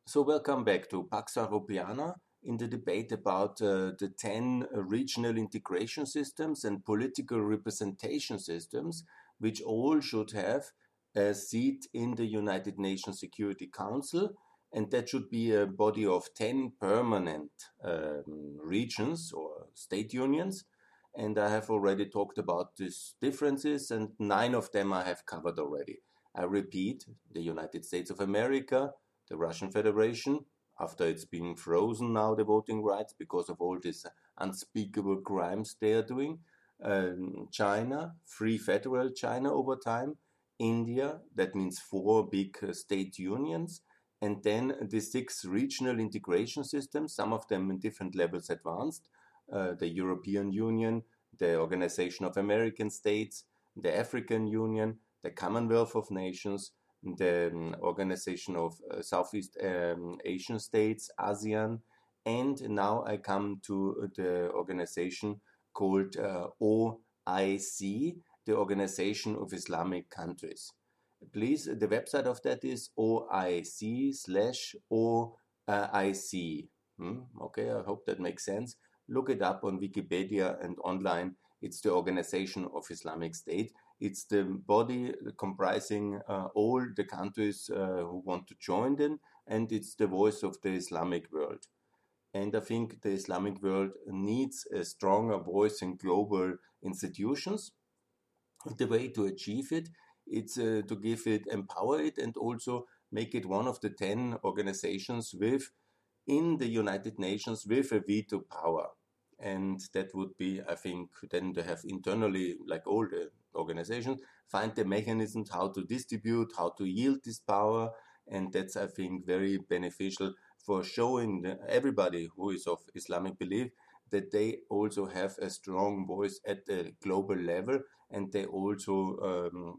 So welcome back to Pax Europiana in the debate about the 10 regional integration systems and political representation systems, which all should have a seat in the United Nations Security Council, and that should be a body of 10 permanent regions or state unions. And I have already talked about these differences, and 9 of them I have covered already. I repeat, the United States of America, the Russian Federation, after it's been frozen now, the voting rights, because of all these unspeakable crimes they are doing. China, Free Federal China over time. India, that means 4 big state unions. And then the 6 regional integration systems, some of them in different levels advanced. The European Union, the Organization of American States, the African Union, the Commonwealth of Nations, the Organization of Southeast Asian States, ASEAN, and now I come to the organization called OIC, the Organization of Islamic Countries. Please, the website of that is OIC/OIC. Okay, I hope that makes sense. Look it up on Wikipedia and online. It's the Organization of Islamic State. It's the body comprising all the countries who want to join them, and it's the voice of the Islamic world. And I think the Islamic world needs a stronger voice in global institutions. The way to achieve it, it's to give it, empower it, and also make it one of the 10 organizations in the United Nations with a veto power. And that would be, I think, then to have internally, like all the organizations, find the mechanisms how to distribute, how to yield this power. And that's, I think, very beneficial for showing everybody who is of Islamic belief that they also have a strong voice at the global level, and they also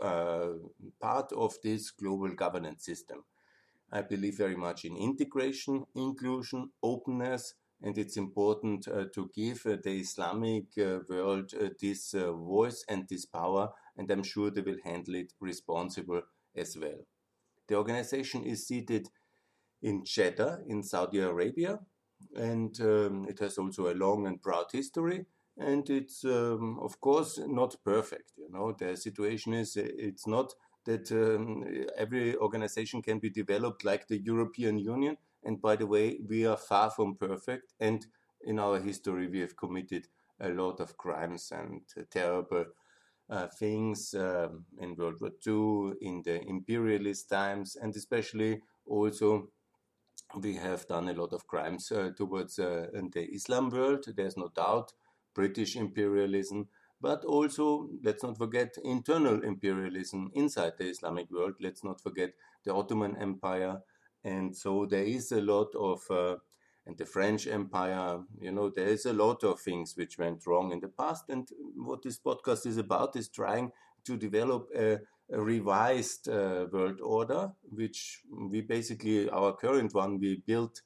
part of this global governance system. I believe very much in integration, inclusion, openness, and it's important to give the Islamic world this voice and this power, and I'm sure they will handle it responsible as well. The organization is seated in Jeddah in Saudi Arabia, and it has also a long and proud history, and it's of course not perfect. The situation is it's not that every organization can be developed like the European Union. And by the way, we are far from perfect, and in our history we have committed a lot of crimes and terrible things in World War II, in the imperialist times, and especially also we have done a lot of crimes towards the Islam world. There's no doubt, British imperialism, but also, let's not forget, internal imperialism inside the Islamic world. Let's not forget the Ottoman Empire. And so there is a lot of, and the French Empire, there is a lot of things which went wrong in the past. And what this podcast is about is trying to develop a revised world order, which we basically, our current one, we built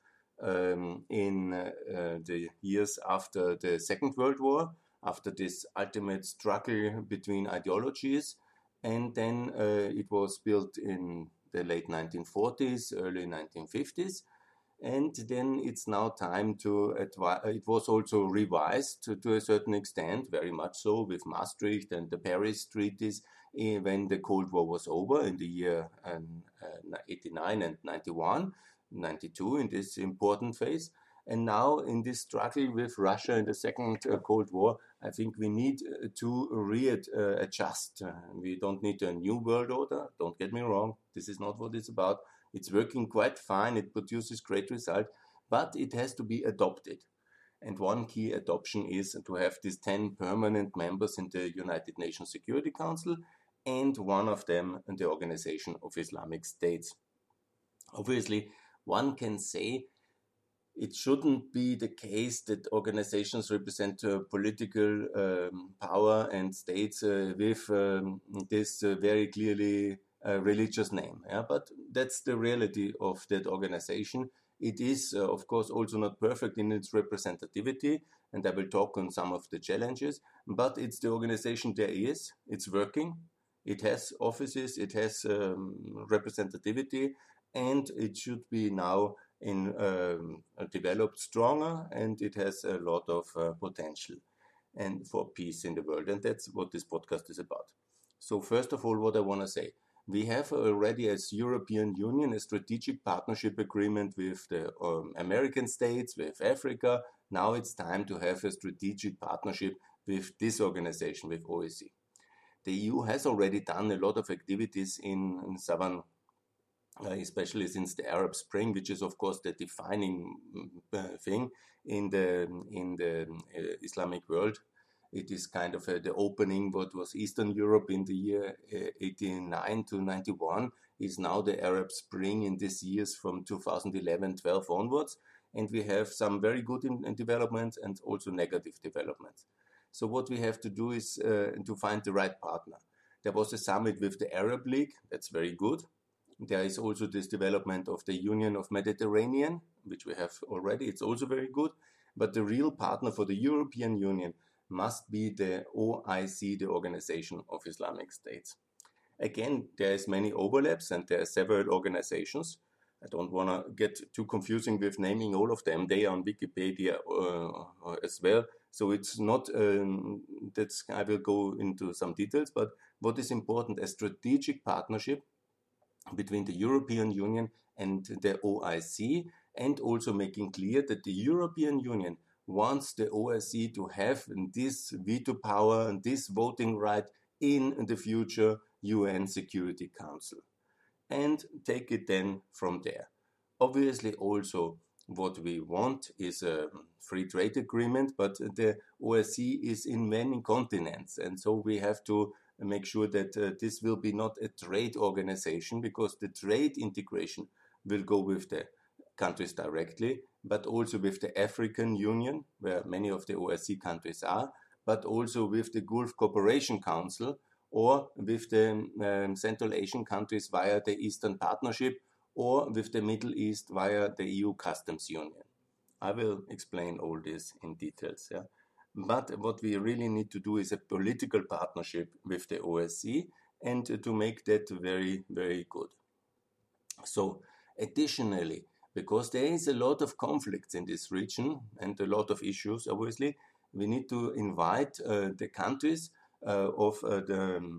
in the years after the Second World War, after this ultimate struggle between ideologies. And then it was built in the late 1940s, early 1950s. And then it's now time to, it was also revised to a certain extent, very much so, with Maastricht and the Paris treaties when the Cold War was over in the year 89 and 91, 92 in this important phase. And now in this struggle with Russia in the second Cold War, I think we need to readjust. We don't need a new world order, don't get me wrong, this is not what it's about. It's working quite fine, it produces great results, but it has to be adopted. And one key adoption is to have these 10 permanent members in the United Nations Security Council, and one of them in the Organization of Islamic States. Obviously, one can say it shouldn't be the case that organizations represent political power and states with this very clearly religious name. Yeah? But that's the reality of that organization. It is, of course, also not perfect in its representativity, and I will talk on some of the challenges, but it's the organization there is, it's working, it has offices, it has representativity, and it should be now developed stronger, and it has a lot of potential and for peace in the world. And that's what this podcast is about. So first of all, what I want to say, we have already as European Union a strategic partnership agreement with the American states, with Africa. Now it's time to have a strategic partnership with this organization, with OSCE. The EU has already done a lot of activities in southern, especially since the Arab Spring, which is of course the defining thing in the Islamic world. It is kind of the opening what was Eastern Europe in the year 89 to 91 is now the Arab Spring in these years from 2011-12 onwards. And we have some very good developments and also negative developments. So what we have to do is to find the right partner. There was a summit with the Arab League. That's very good. There is also this development of the Union of Mediterranean, which we have already. It's also very good. But the real partner for the European Union must be the OIC, the Organization of Islamic States. Again, there is many overlaps and there are several organizations. I don't want to get too confusing with naming all of them. They are on Wikipedia as well. So it's not, I will go into some details, but what is important, a strategic partnership between the European Union and the OIC, and also making clear that the European Union wants the OSCE to have this veto power and this voting right in the future UN Security Council, and take it then from there. Obviously also what we want is a free trade agreement, but the OSCE is in many continents, and so we have to make sure that this will be not a trade organization, because the trade integration will go with the countries directly, but also with the African Union, where many of the OSCE countries are, but also with the Gulf Cooperation Council, or with the Central Asian countries via the Eastern Partnership, or with the Middle East via the EU Customs Union. I will explain all this in details. Yeah? But what we really need to do is a political partnership with the OSCE, and to make that very, very good. So additionally, because there is a lot of conflicts in this region and a lot of issues, obviously, we need to invite the countries of the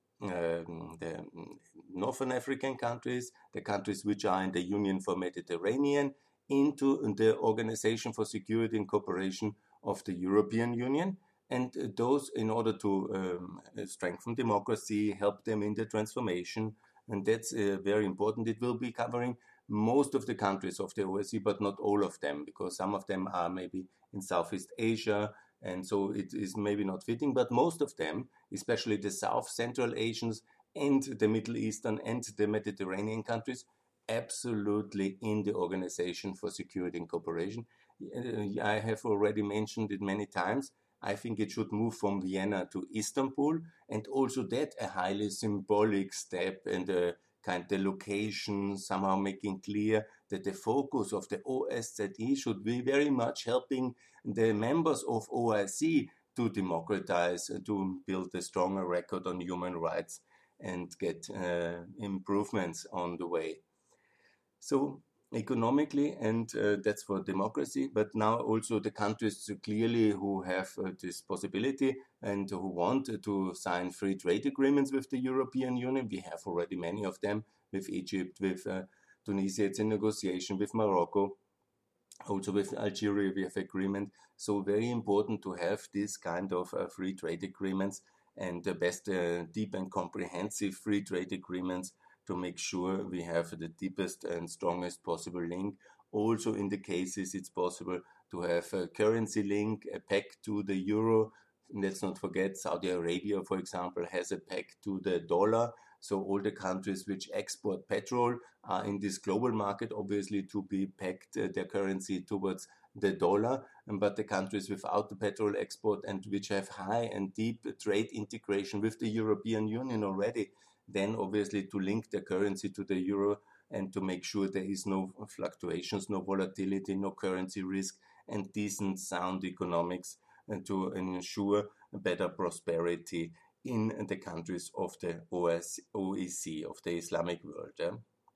Northern African countries, the countries which are in the Union for Mediterranean, into the Organization for Security and Cooperation of the European Union, and those in order to strengthen democracy, help them in the transformation, and that's very important. It will be covering most of the countries of the OSCE, but not all of them, because some of them are maybe in Southeast Asia, and so it is maybe not fitting, but most of them, especially the South Central Asians and the Middle Eastern and the Mediterranean countries, absolutely in the Organization for Security and Cooperation. I have already mentioned it many times. I think it should move from Vienna to Istanbul, and also that a highly symbolic step, and the location somehow making clear that the focus of the OSZE should be very much helping the members of OIC to democratize, to build a stronger record on human rights and get improvements on the way. So economically, and that's for democracy, but now also the countries clearly who have this possibility and who want to sign free trade agreements with the European Union. We have already many of them with Egypt, with Tunisia, it's in negotiation, with Morocco, also with Algeria we have agreement. So very important to have this kind of free trade agreements, and the best deep and comprehensive free trade agreements, to make sure we have the deepest and strongest possible link. Also in the cases it's possible to have a currency link, a peg to the euro. Let's not forget Saudi Arabia, for example, has a peg to the dollar. So all the countries which export petrol are in this global market, obviously, to be pegged their currency towards the dollar. But the countries without the petrol export and which have high and deep trade integration with the European Union already, then obviously to link the currency to the euro and to make sure there is no fluctuations, no volatility, no currency risk, and decent, sound economics, and to ensure better prosperity in the countries of the OEC, of the Islamic world. Yeah?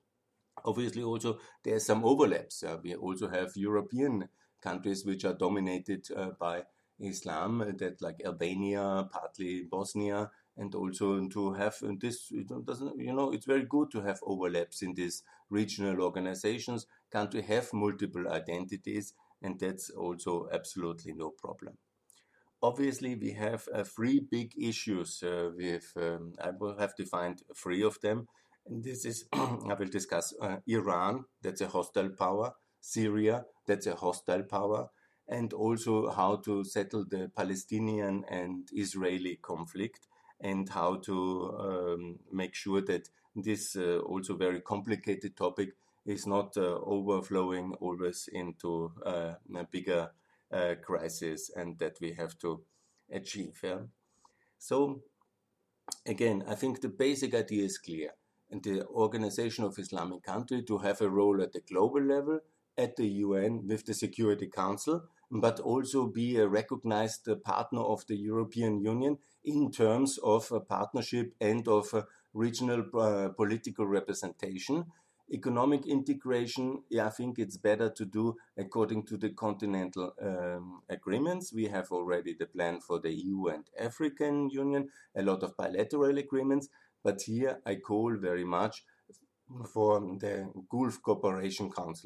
Obviously, also there are some overlaps. We also have European countries which are dominated by Islam, that like Albania, partly Bosnia, and also to have this. It doesn't, it's very good to have overlaps in these regional organizations. Country have multiple identities, and that's also absolutely no problem. Obviously, we have three big issues I will have defined three of them. And this is, I will discuss Iran, that's a hostile power, Syria, that's a hostile power, and also how to settle the Palestinian and Israeli conflict, and how to make sure that this also very complicated topic is not overflowing always into a bigger crisis, and that we have to achieve. Yeah? So again, I think the basic idea is clear. And the Organization of Islamic Country to have a role at the global level, at the UN with the Security Council, but also be a recognized partner of the European Union in terms of a partnership and of regional political representation. Economic integration, I think it's better to do according to the continental agreements. We have already the plan for the EU and African Union, a lot of bilateral agreements, but here I call very much for the Gulf Cooperation Council.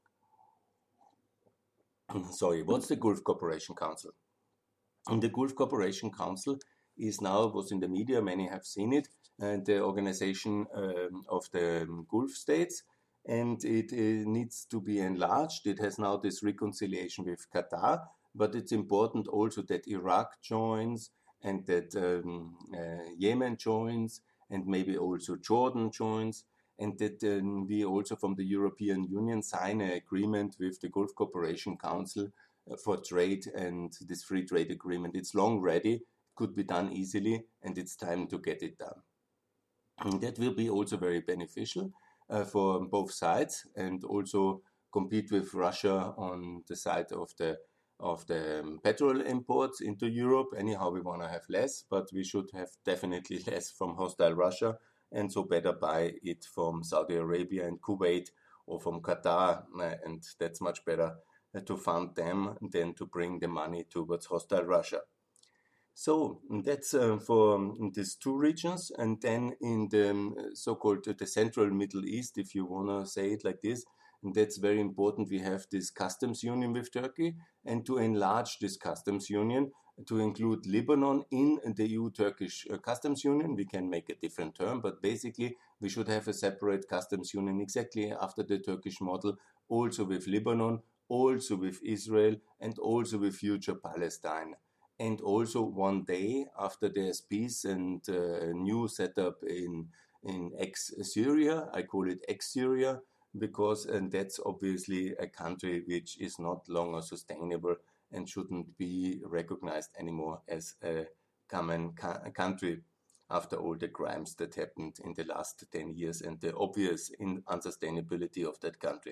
Sorry, what's the Gulf Cooperation Council? And the Gulf Cooperation Council is now, was in the media, many have seen it, the organization of the Gulf states, and it needs to be enlarged. It has now this reconciliation with Qatar, but it's important also that Iraq joins, and that Yemen joins, and maybe also Jordan joins, and that we also from the European Union sign an agreement with the Gulf Cooperation Council for trade, and this free trade agreement. It's long ready, could be done easily, and it's time to get it done. And that will be also very beneficial for both sides, and also compete with Russia on the side of the petrol imports into Europe. Anyhow, we want to have less, but we should have definitely less from hostile Russia, and so better buy it from Saudi Arabia and Kuwait, or from Qatar, and that's much better to fund them than to bring the money towards hostile Russia. So that's for these two regions. And then in the so-called the Central Middle East, if you want to say it like this, and that's very important, we have this customs union with Turkey, and to enlarge this customs union to include Lebanon in the EU-Turkish customs union. We can make a different term, but basically we should have a separate customs union exactly after the Turkish model, also with Lebanon, also with Israel, and also with future Palestine. And also one day after there's peace and a new setup in ex-Syria, I call it ex-Syria, because and that's obviously a country which is not longer sustainable and shouldn't be recognized anymore as a common country after all the crimes that happened in the last 10 years and the obvious unsustainability of that country.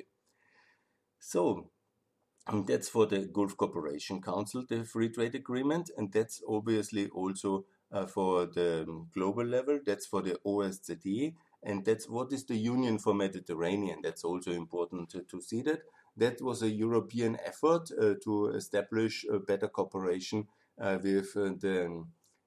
So, and that's for the Gulf Cooperation Council, the Free Trade Agreement, and that's obviously also for the global level. That's for the OSCE, and that's what is the Union for Mediterranean. That's also important to see that. That was a European effort to establish a better cooperation with the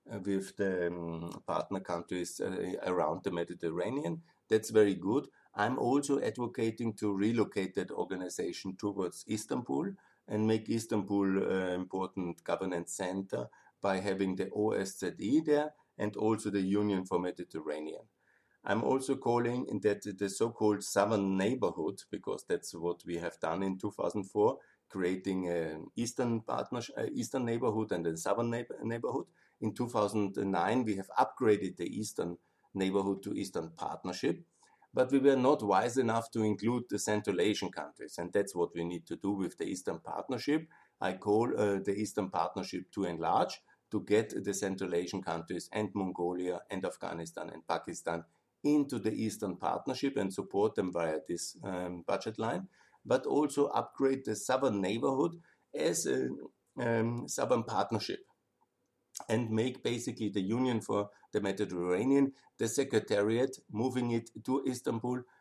partner countries around the Mediterranean. That's very good. I'm also advocating to relocate that organization towards Istanbul and make Istanbul an important governance center by having the OSCE there and also the Union for Mediterranean. I'm also calling that the so-called Southern Neighborhood, because that's what we have done in 2004, creating an Eastern Neighborhood and a Southern Neighborhood. In 2009, we have upgraded the Eastern Neighborhood to Eastern Partnership. But we were not wise enough to include the Central Asian countries, and that's what we need to do with the Eastern Partnership. I call the Eastern Partnership to enlarge, to get the Central Asian countries and Mongolia and Afghanistan and Pakistan into the Eastern Partnership and support them via this budget line, but also upgrade the Southern Neighborhood as a Southern Partnership, and make basically the Union for the Mediterranean the secretariat, moving it to Istanbul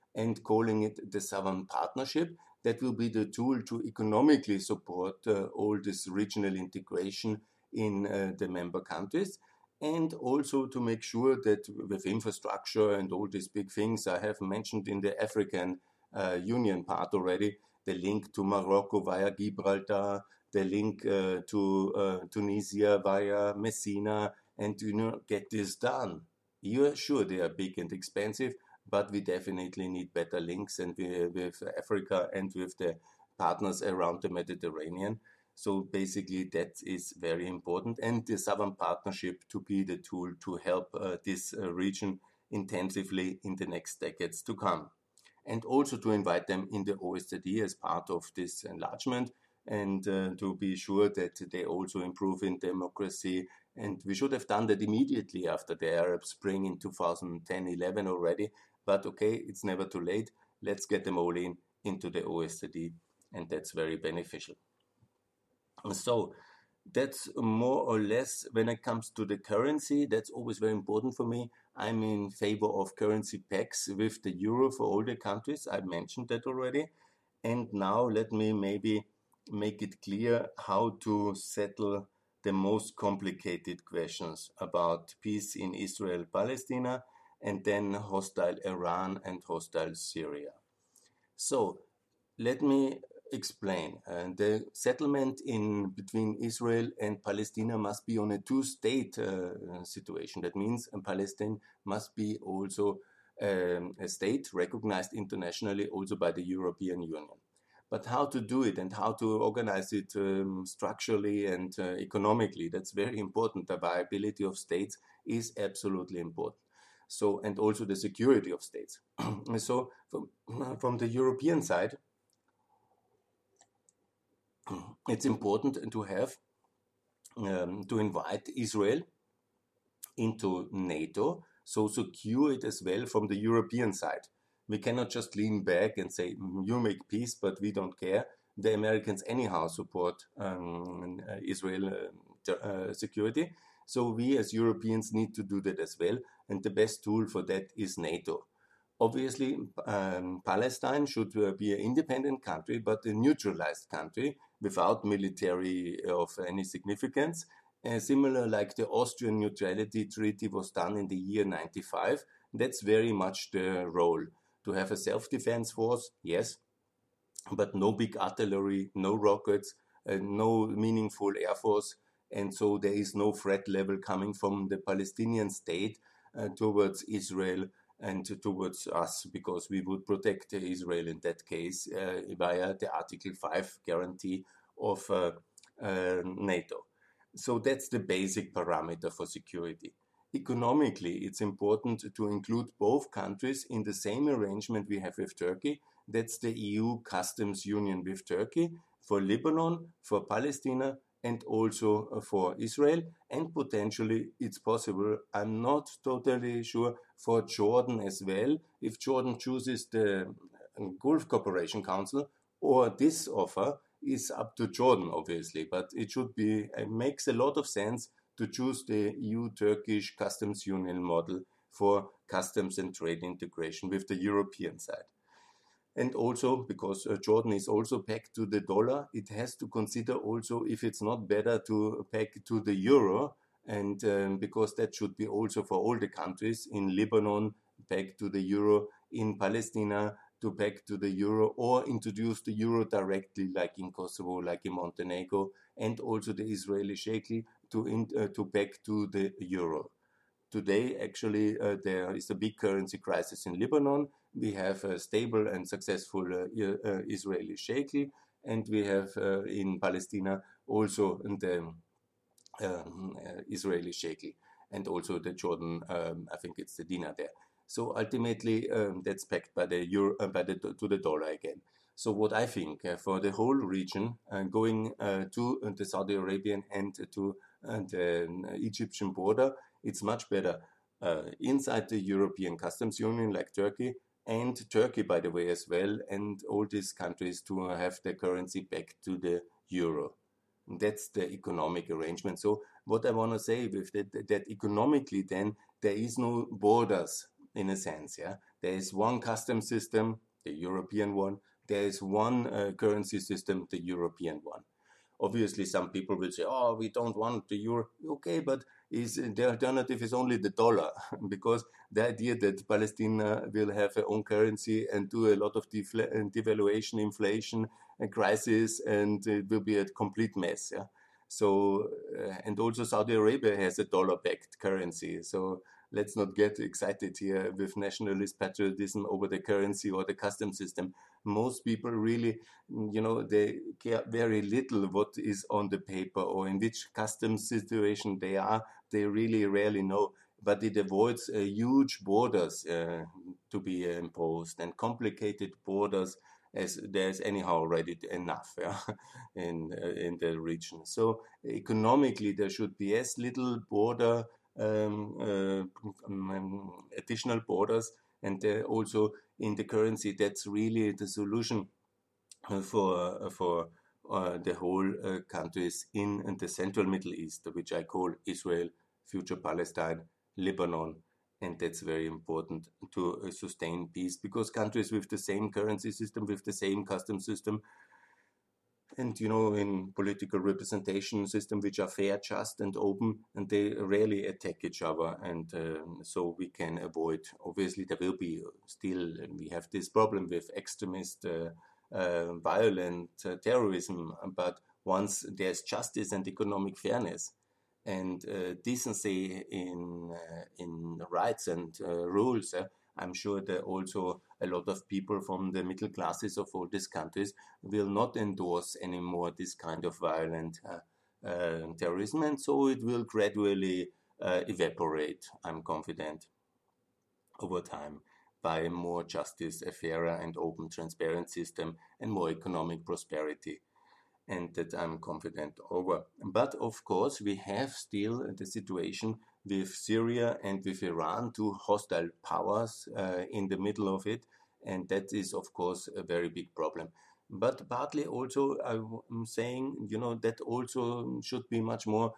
and calling it the Southern Partnership. That will be the tool to economically support all this regional integration in the member countries, and also to make sure that with infrastructure and all these big things I have mentioned in the African Union part already, the link to Morocco via Gibraltar, the link to Tunisia via Messina, and get this done. You're sure they are big and expensive, but we definitely need better links and with Africa and with the partners around the Mediterranean. So basically, that is very important, and the Southern Partnership to be the tool to help this region intensively in the next decades to come. And also to invite them in the OSCE as part of this enlargement, and to be sure that they also improve in democracy. And we should have done that immediately after the Arab Spring in 2010-11 already. But okay, it's never too late. Let's get them all into the OSCE, and that's very beneficial. So that's more or less when it comes to the currency. That's always very important for me. I'm in favor of currency packs with the euro for all the countries. I mentioned that already. And now let me maybe make it clear how to settle the most complicated questions about peace in Israel-Palestina, and then hostile Iran and hostile Syria. So let me explain. The settlement in between Israel and Palestine must be on a two-state situation. That means Palestine must be also a state recognized internationally also by the European Union. But how to do it and how to organize it structurally and economically, that's very important. The viability of states is absolutely important. So, and also the security of states. So from the European side, it's important to have to invite Israel into NATO, so secure it as well from the European side. We cannot just lean back and say, you make peace, but we don't care. The Americans anyhow support Israel security. So we as Europeans need to do that as well. And the best tool for that is NATO. Obviously, Palestine should be an independent country, but a neutralized country without military of any significance. Similar like the Austrian Neutrality Treaty was done in the year 95. That's very much the role. To have a self-defense force, yes, but no big artillery, no rockets, no meaningful air force. And so there is no threat level coming from the Palestinian state towards Israel and towards us, because we would protect Israel in that case via the Article 5 guarantee of NATO. So that's the basic parameter for security. Economically, it's important to include both countries in the same arrangement we have with Turkey. That's the EU customs union with Turkey for Lebanon, for Palestine, and also for Israel. And potentially, it's possible, I'm not totally sure, for Jordan as well, if Jordan chooses the Gulf Cooperation Council, or this offer is up to Jordan, obviously, but it should be, it makes a lot of sense to choose the EU-Turkish customs union model for customs and trade integration with the European side. And also, because Jordan is also pegged to the dollar, it has to consider also if it's not better to peg to the euro, and because that should be also for all the countries in Lebanon, pegged to the euro, in Palestine, to peg to the euro, or introduce the euro directly, like in Kosovo, like in Montenegro, and also the Israeli shekel to peg to the euro. Today, actually, there is a big currency crisis in Lebanon. We have a stable and successful Israeli shekel, and we have in Palestine also the Israeli shekel, and also the Jordan, I think it's the dinar there. So ultimately, that's pegged by the euro, to the dollar again. So what I think for the whole region, going to the Saudi Arabian and to the Egyptian border, it's much better inside the European Customs Union, like Turkey, and Turkey, by the way, as well, and all these countries to have their currency back to the euro. That's the economic arrangement. So what I want to say with that economically, then there is no borders in a sense. Yeah, There is one custom system, the European one. There is one currency system, the European one. Obviously, some people will say, "Oh, we don't want the euro." Okay, but the alternative is only the dollar, because the idea that Palestine will have their own currency and do a lot of devaluation, inflation, and crisis, and it will be a complete mess. Yeah. So, and also Saudi Arabia has a dollar-backed currency. So let's not get excited here with nationalist patriotism over the currency or the custom system. Most people really, they care very little what is on the paper or in which customs situation they are. They really rarely know, but it avoids huge borders to be imposed and complicated borders, as there's anyhow already enough in the region. So economically, there should be as little border additional borders, and also in the currency. That's really the solution for the whole countries in the central Middle East, which I call Israel, future Palestine, Lebanon. And that's very important to sustain peace, because countries with the same currency system, with the same custom system, and in political representation system which are fair, just, and open, and they rarely attack each other, and so we can avoid. Obviously, there will be still, we have this problem with extremist, violent terrorism, but once there's justice and economic fairness and decency in rights and rules, I'm sure that also a lot of people from the middle classes of all these countries will not endorse anymore this kind of violent terrorism, and so it will gradually evaporate, I'm confident, over time, by more justice, a fairer and open, transparent system, and more economic prosperity. And that I'm confident over. But of course, we have still the situation with Syria and with Iran, two hostile powers in the middle of it, and that is, of course, a very big problem. But partly also, I'm saying, that also should be much more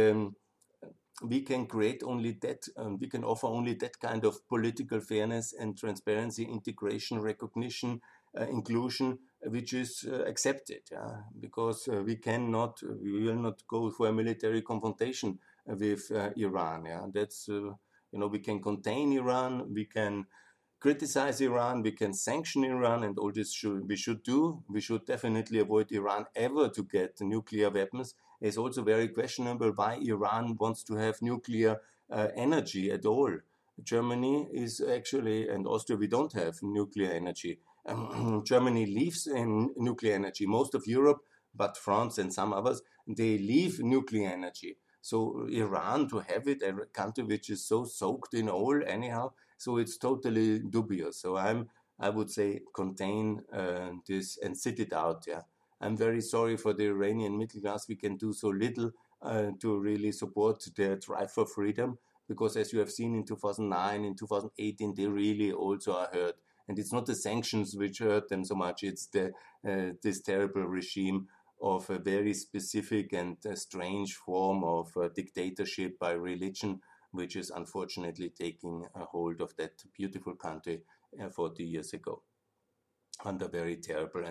we can create only that, we can offer only that kind of political fairness and transparency, integration, recognition, inclusion, which is accepted, because we will not go for a military confrontation with Iran. That's, we can contain Iran, we can criticize Iran, we can sanction Iran, and all this we should do. We should definitely avoid Iran ever to get nuclear weapons. It's also very questionable why Iran wants to have nuclear energy at all. Germany is actually, and Austria, we don't have nuclear energy. Germany lives in nuclear energy. Most of Europe, but France and some others, they leave nuclear energy. So Iran, to have it, a country which is so soaked in oil anyhow, so it's totally dubious. So I would say contain this and sit it out. I'm very sorry for the Iranian middle class. We can do so little to really support their drive for freedom, because as you have seen in 2009, in 2018, they really also are hurt. And it's not the sanctions which hurt them so much, it's this terrible regime of a very specific and strange form of dictatorship by religion, which is unfortunately taking a hold of that beautiful country 40 years ago under very terrible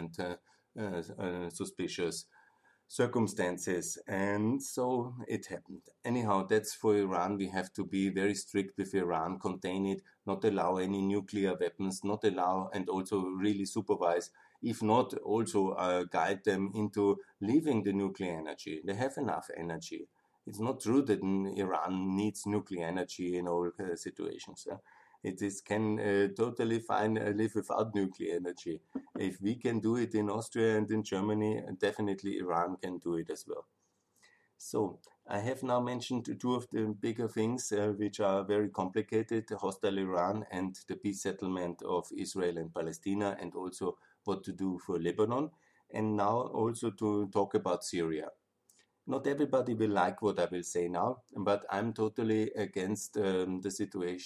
and suspicious circumstances. And so it happened. Anyhow, that's for Iran. We have to be very strict with Iran, contain it, not allow any nuclear weapons, not allow, and also really supervise, if not also guide them into leaving the nuclear energy. They have enough energy. It's not true that Iran needs nuclear energy in all situations. It can totally fine live without nuclear energy. If we can do it in Austria and in Germany, definitely Iran can do it as well. So I have now mentioned two of the bigger things which are very complicated, the hostile Iran and the peace settlement of Israel and Palestine, and also what to do for Lebanon, and now also to talk about Syria. Not everybody will like what I will say now, but I'm totally against the situation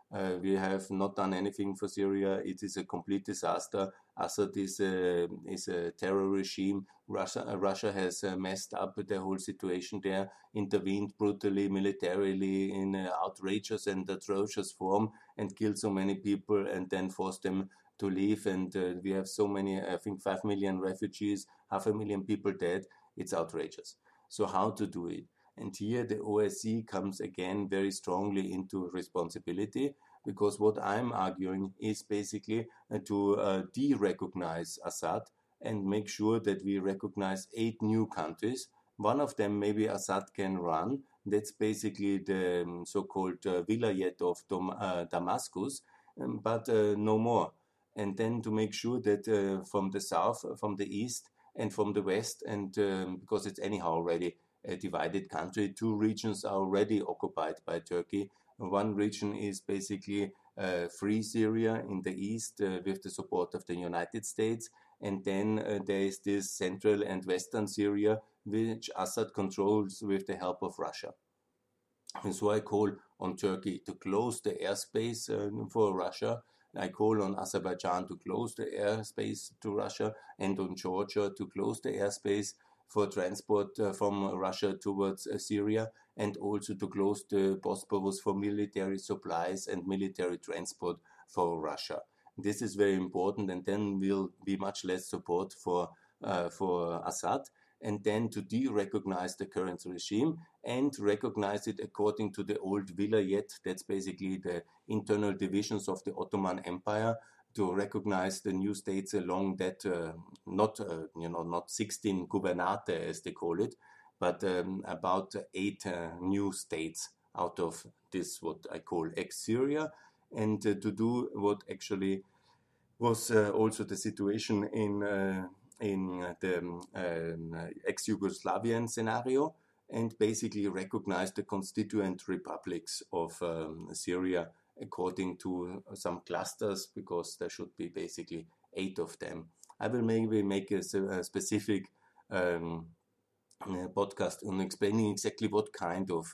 We have not done anything for Syria. It is a complete disaster. Assad is a terror regime. Russia has messed up the whole situation there, intervened brutally, militarily, in an outrageous and atrocious form, and killed so many people, and then forced them to leave. And we have so many, I think 5 million refugees, 500,000 people dead. It's outrageous. So how to do it? And here the OSCE comes again very strongly into responsibility, because what I'm arguing is basically to de-recognize Assad and make sure that we recognize 8 new countries. One of them maybe Assad can run. That's basically the so-called Vilayet of Damascus, but no more. And then to make sure that from the south, from the east, and from the west, and because it's anyhow already a divided country, 2 regions are already occupied by Turkey. One region is basically free Syria in the east with the support of the United States. And then there is this central and western Syria, which Assad controls with the help of Russia. And so I call on Turkey to close the airspace for Russia. I call on Azerbaijan to close the airspace to Russia, and on Georgia to close the airspace for transport from Russia towards Syria, and also to close the Bosporus for military supplies and military transport for Russia. This is very important, and then will be much less support for Assad, and then to de-recognize the current regime and recognize it according to the old Vilayet. That's basically the internal divisions of the Ottoman Empire, to recognize the new states along that, not 16 gubernate as they call it, but about 8 new states out of this, what I call ex-Syria, and to do what actually was also the situation in the ex-Yugoslavian scenario, and basically recognize the constituent republics of Syria according to some clusters, because there should be basically 8 of them. I will maybe make a specific podcast on explaining exactly what kind of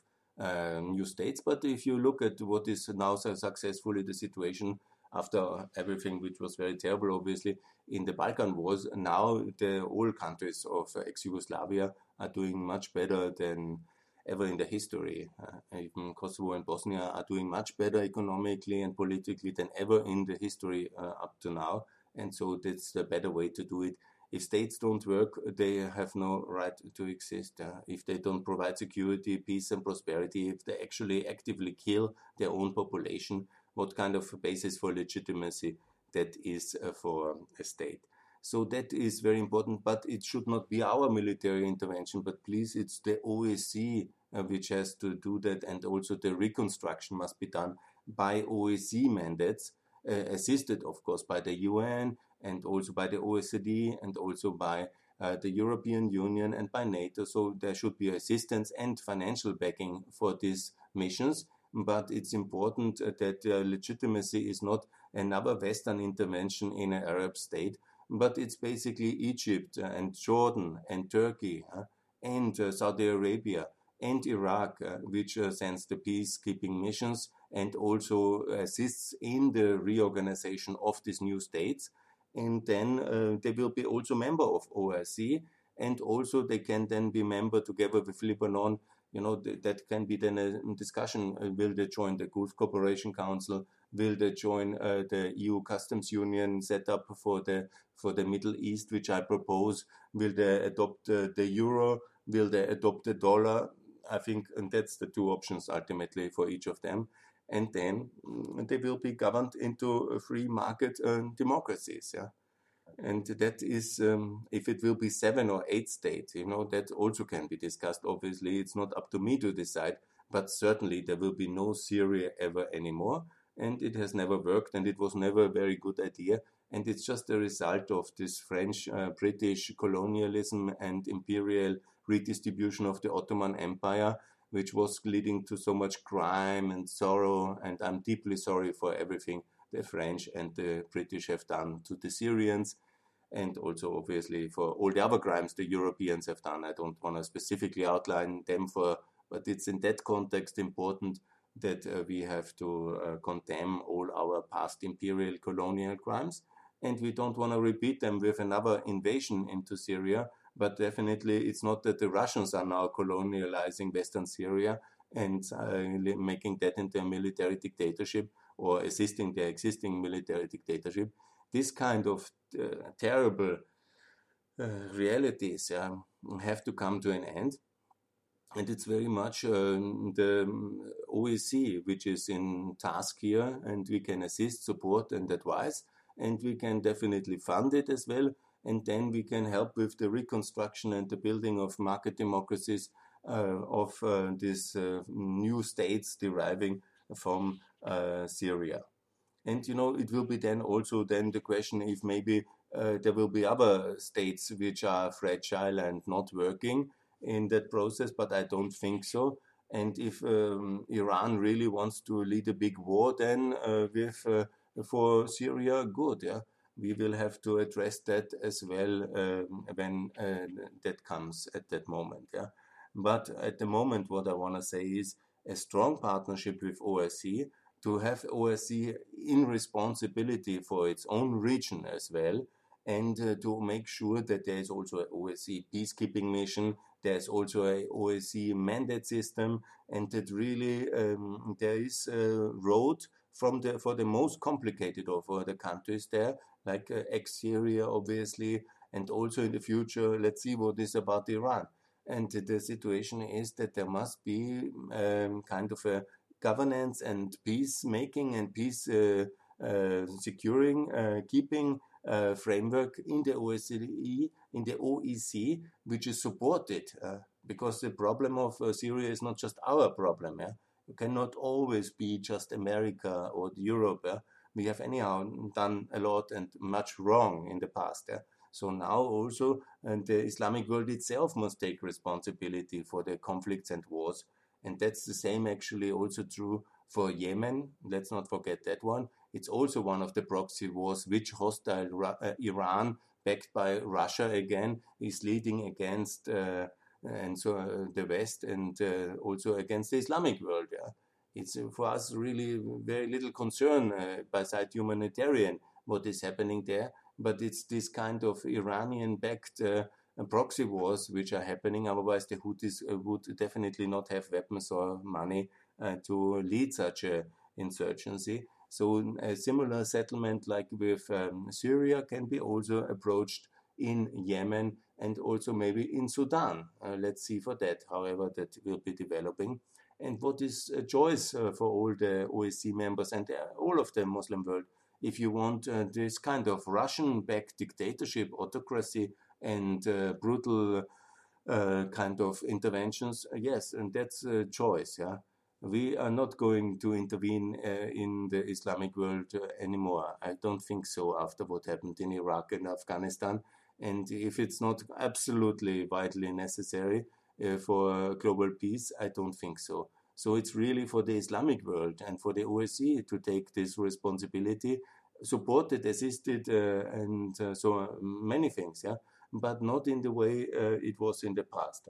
new states. But if you look at what is now so successfully the situation after everything, which was very terrible, obviously, in the Balkan Wars, now all countries of ex-Yugoslavia are doing much better than ever in the history. Even Kosovo and Bosnia are doing much better economically and politically than ever in the history up to now. And so that's the better way to do it. If states don't work, they have no right to exist. If they don't provide security, peace and prosperity, if they actually actively kill their own population, what kind of basis for legitimacy that is for a state? So that is very important, but it should not be our military intervention, but please, it's the OSCE which has to do that, and also the reconstruction must be done by OSCE mandates, assisted, of course, by the UN and also by the OECD and also by the European Union and by NATO. So there should be assistance and financial backing for these missions, but it's important that legitimacy is not another Western intervention in an Arab state, but it's basically Egypt and Jordan and Turkey and Saudi Arabia and Iraq, which sends the peacekeeping missions and also assists in the reorganization of these new states. And then they will be also member of OSCE, and also they can then be member together with Lebanon. That can be then a discussion. Will they join the Gulf Cooperation Council? Will they join the EU Customs Union set up for the Middle East, which I propose? Will they adopt the euro? Will they adopt the dollar? I think, and that's the 2 options ultimately for each of them. And then they will be governed into free market democracies. Yeah. And that is, if it will be 7 or 8 states, that also can be discussed. Obviously, it's not up to me to decide, but certainly there will be no Syria ever anymore. And it has never worked, and it was never a very good idea. And it's just a result of this French, British colonialism and imperial redistribution of the Ottoman Empire, which was leading to so much crime and sorrow. And I'm deeply sorry for everything the French and the British have done to the Syrians, and also obviously for all the other crimes the Europeans have done. I don't want to specifically outline them but it's in that context important that we have to condemn all our past imperial colonial crimes, and we don't want to repeat them with another invasion into Syria. But definitely, it's not that the Russians are now colonializing Western Syria and making that into a military dictatorship or assisting their existing military dictatorship. This kind of terrible realities have to come to an end. And it's very much the OSCE which is in task here, and we can assist, support, and advise, and we can definitely fund it as well. And then we can help with the reconstruction and the building of market democracies of these new states deriving from Syria. And it will be then also then the question if maybe there will be other states which are fragile and not working in that process, but I don't think so. And if Iran really wants to lead a big war then for Syria, good, yeah. We will have to address that as well when that comes at that moment, yeah. But at the moment, what I want to say is a strong partnership with OSCE, to have OSCE in responsibility for its own region as well, and to make sure that there is also an OSCE peacekeeping mission, there's also a OSCE mandate system, and that really there is a road for the most complicated of the countries there, like ex-Syria, obviously, and also in the future, let's see what is about Iran. And the situation is that there must be kind of a governance and peacemaking and peace securing, keeping framework in the OEC, which is supported, because the problem of Syria is not just our problem. Yeah? You cannot always be just America or Europe. Yeah? We have anyhow done a lot and much wrong in the past. Yeah? So now also, and the Islamic world itself must take responsibility for the conflicts and wars. And that's the same actually also true for Yemen. Let's not forget that one. It's also one of the proxy wars which hostile Iran, backed by Russia again, is leading against the West and also against the Islamic world. Yeah? It's for us really very little concern beside humanitarian what is happening there, but it's this kind of Iranian-backed proxy wars which are happening. Otherwise, the Houthis would definitely not have weapons or money to lead such an insurgency. So a similar settlement like with Syria can be also approached in Yemen and also maybe in Sudan. Let's see for that, however that will be developing. And what is a choice for all the OSCE members and all of the Muslim world? If you want this kind of Russian-backed dictatorship, autocracy, and brutal kind of interventions, yes, and that's a choice, yeah. We are not going to intervene in the Islamic world anymore. I don't think so after what happened in Iraq and Afghanistan. And if it's not absolutely vitally necessary for global peace, I don't think so. So it's really for the Islamic world and for the OSCE to take this responsibility, supported, assisted, and so many things, yeah, but not in the way it was in the past.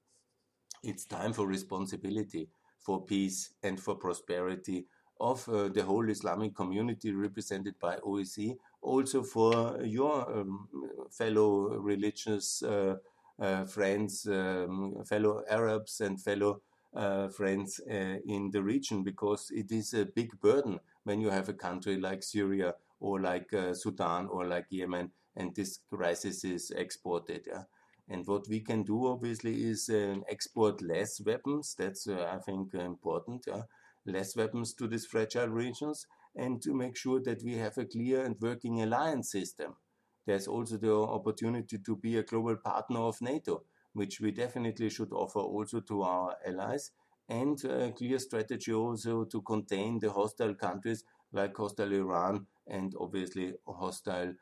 It's time for responsibility, for peace and for prosperity of the whole Islamic community represented by OSCE, also for your fellow religious friends, fellow Arabs and fellow friends in the region, because it is a big burden when you have a country like Syria or like Sudan or like Yemen and this crisis is exported. Yeah? And what we can do, obviously, is export less weapons. That's, I think, important. Less weapons to these fragile regions, and to make sure that we have a clear and working alliance system. There's also the opportunity to be a global partner of NATO, which we definitely should offer also to our allies, and a clear strategy also to contain the hostile countries like hostile Iran and obviously hostile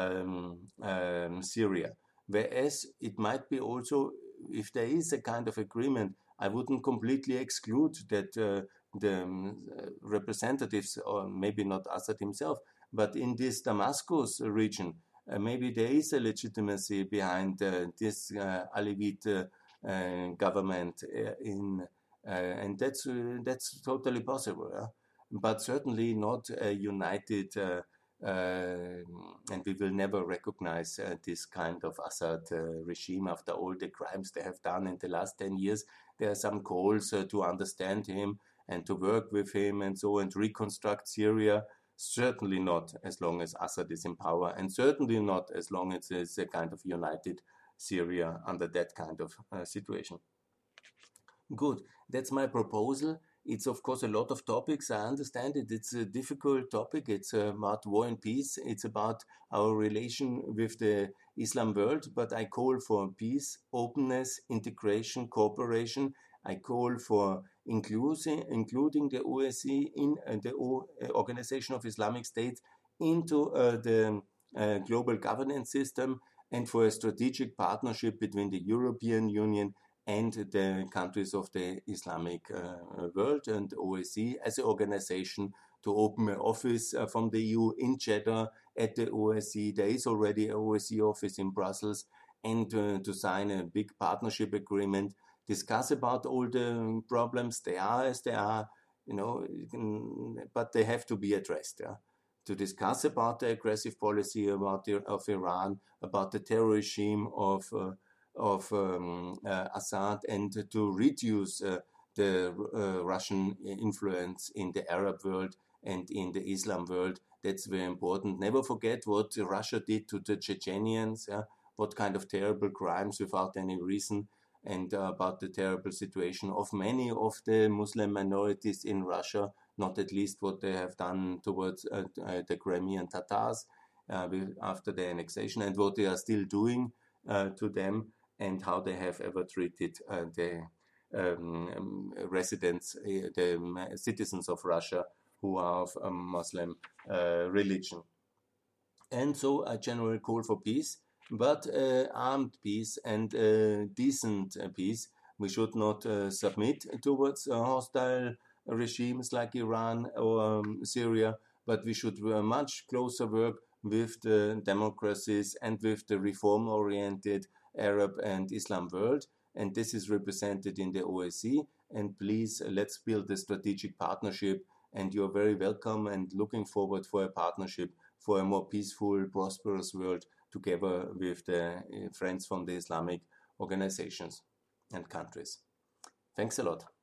Syria. Whereas it might be also, if there is a kind of agreement, I wouldn't completely exclude that the representatives, or maybe not Assad himself, but in this Damascus region, maybe there is a legitimacy behind this Alevite government in And that's totally possible. Yeah? But certainly not a united, and we will never recognize this kind of Assad regime after all the crimes they have done in the last 10 years. There are some calls to understand him and to work with him and so and reconstruct Syria. Certainly not as long as Assad is in power, and certainly not as long as it's a kind of united Syria under that kind of situation. Good. That's my proposal. It's of course a lot of topics. I understand it. It's a difficult topic. It's about war and peace. It's about our relation with the Islam world. But I call for peace, openness, integration, cooperation. I call for including the OSCE in the Organization of Islamic States into the global governance system, and for a strategic partnership between the European Union and the countries of the Islamic world and OSCE as an organization to open an office from the EU in Jeddah at the OSCE. There is already an OSCE office in Brussels, and to sign a big partnership agreement, discuss about all the problems. They are as they are, but they have to be addressed. Yeah? To discuss about the aggressive policy of Iran, about the terror regime of Assad, and to reduce the Russian influence in the Arab world and in the Islam world. That's very important. Never forget what Russia did to the Chechenians, what kind of terrible crimes without any reason, and about the terrible situation of many of the Muslim minorities in Russia, not at least what they have done towards the Crimean Tatars after the annexation, and what they are still doing to them, and how they have ever treated the residents, the citizens of Russia who are of Muslim religion. And so a general call for peace, but armed peace and decent peace. We should not submit towards hostile regimes like Iran or Syria, but we should much closer work with the democracies and with the reform-oriented Arab and Islam world, and this is represented in the OSCE. And please, let's build a strategic partnership, and you're very welcome and looking forward for a partnership for a more peaceful, prosperous world together with the friends from the Islamic organizations and countries. Thanks a lot.